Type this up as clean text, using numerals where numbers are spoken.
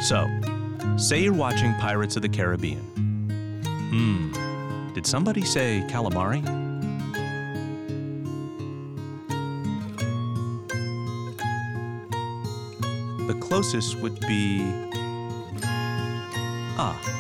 So, say you're watching Pirates of the Caribbean. Did somebody say calamari? The closest would be... Ah,